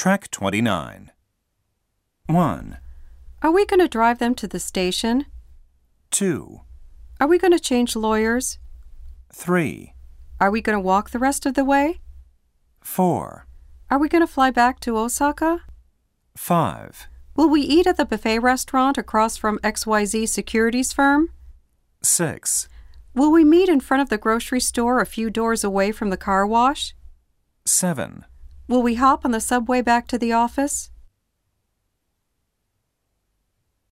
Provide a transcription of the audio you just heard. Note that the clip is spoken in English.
Track 29. 1, Are we going to drive them to the station? 2, Are we going to change lawyers? 3, Are we going to walk the rest of the way? 4, Are we going to fly back to Osaka? 5, Will we eat at the buffet restaurant across from XYZ Securities firm? 6, Will we meet in front of the grocery store a few doors away from the car wash? 7, Will we hop on the subway back to the office?